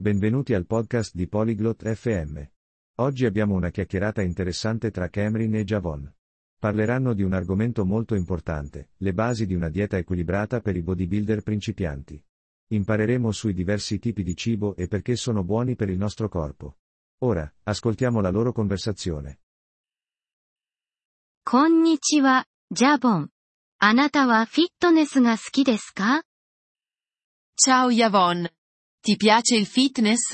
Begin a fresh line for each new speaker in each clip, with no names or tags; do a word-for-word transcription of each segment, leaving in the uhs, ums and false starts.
Benvenuti al podcast di Polyglot F M. Oggi abbiamo una chiacchierata interessante tra Cameron e Javon. Parleranno di un argomento molto importante, le basi di una dieta equilibrata per i bodybuilder principianti. Impareremo sui diversi tipi di cibo e perché sono buoni per il nostro corpo. Ora, ascoltiamo la loro conversazione.
こんにちは、ジャボン。あなたはフィットネスが好きですか？
Ciao Yavon. Ti piace il fitness?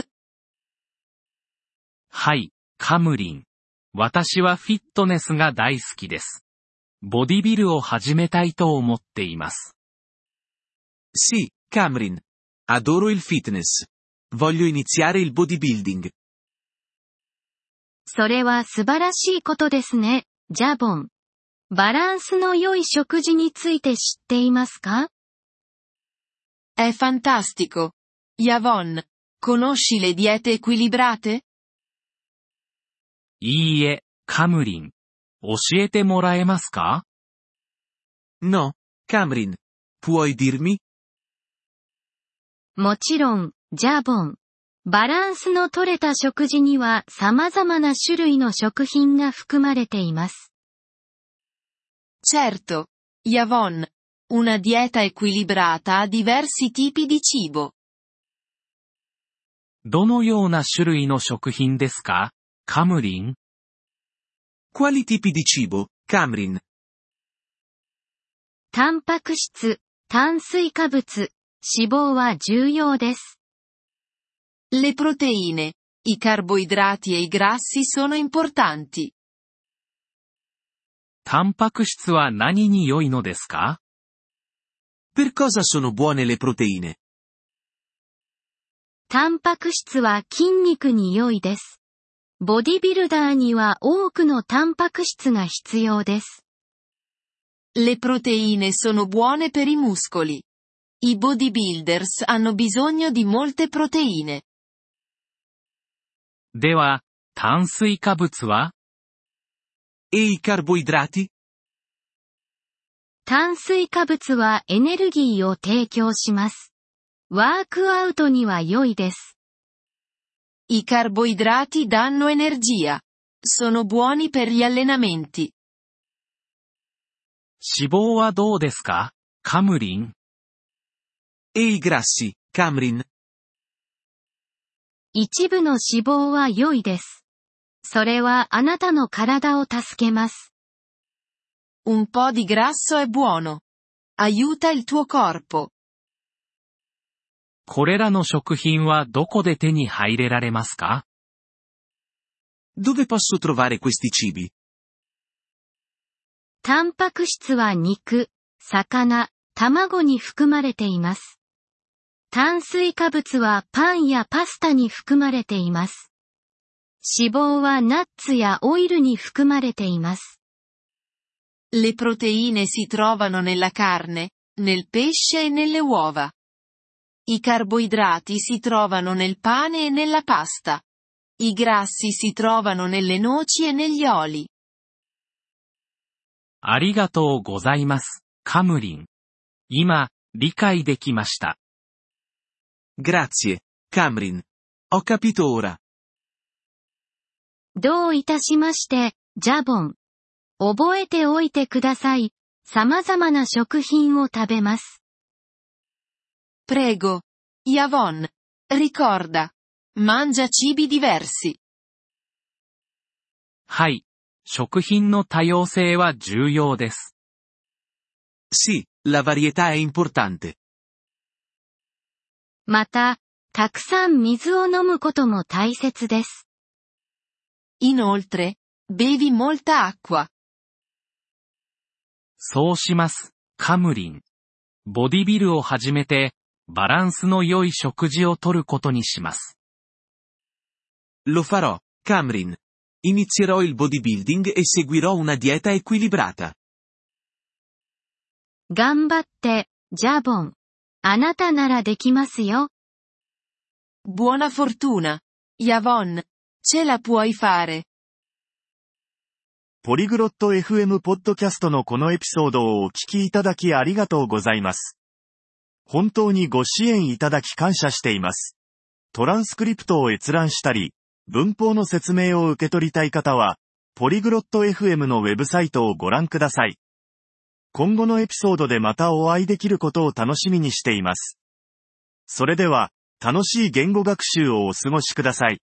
はい、カムリン。私はフィットネスが大好きです。ボディビルを始めたいと思っています。
Sì, Cameron. Adoro il fitness. Voglio iniziare il bodybuilding.
それは素晴らしいことですね、ジャボン。バランスの良い食事について知っていますか？
È fantastico. Yavon, conosci le diete equilibrate?
いいえ、カムリン。教えてもらえますか？
No, Cameron. Puoi dirmi?
もちろん、ジャボン。バランスの取れた食事には様々な種類の食品が含まれています。
Certo. Yavon. Una dieta equilibrata ha diversi tipi di cibo.
どのような種類の食品ですか？カムリン。
Quali tipi di cibo, Cameron?
タンパク質、炭水化物、脂肪は重要です。
Le proteine, i carboidrati e i grassi sono importanti.
タンパク質は何に良いのですか？
Per cosa sono buone le proteine?
タンパク質は筋肉に良いです。ボディビルダーには多くのタンパク質が必要です。
Le proteine sono buone per i muscoli. I bodybuilders hanno bisogno di molte proteine.
では、炭水化物は？
E i carboidrati?
炭水化物はエネルギーを提供します。ワークアウトには良いです。
I carboidrati danno energia. Sono buoni per gli allenamenti.
脂肪はどうですか？カムリン。
E i grassi, Cameron?
一部の脂肪は良いです。それはあなたの体を助けます。
Un po' di grasso è buono. Aiuta il tuo corpo.
これらの食品はどこで手に入れられますか？
Dove posso trovare questi cibi?
タンパク質は肉、魚、卵に含まれています。炭水化物はパンやパスタに含まれています。脂肪はナッツやオイルに含まれています。
Le proteine si trovano nella carne, nel pesce e nelle uova. I carboidrati si trovano nel pane e nella pasta. I grassi si trovano nelle noci e negli oli.
ありがとうございます、カムリン。今、理解できました。
Grazie, Cameron. Ho capito ora.
どういたしまして、ジャボン。覚えておいてください。様々な食品を食べます。
Prego. Yavon. Ricorda. Mangia cibi diversi.
はい。食品の多様性は重要です。
Sì, la varietà è importante.
また、たくさん水を飲むことも大切です。
Inoltre, bevi molta acqua.
そうします、カムリン。ボディビルを始めて、バランスの良い食事をとることにします。
Lo farò, Cameron. Inizierò il bodybuilding e seguirò una dieta equilibrata.
頑張って、ジャボン。あなたならできますよ。
Buona fortuna. Yavon. Ce la puoi fare.
ポリグロット エフエム ポッドキャストのこのエピソードをお聞きいただきありがとうございます。本当にご支援いただき感謝しています。 トランスクリプトを閲覧したり、文法の説明を受け取りたい方は、ポリグロット エフエム のウェブサイトをご覧ください。今後のエピソードでまたお会いできることを楽しみにしています。それでは、楽しい言語学習をお過ごしください。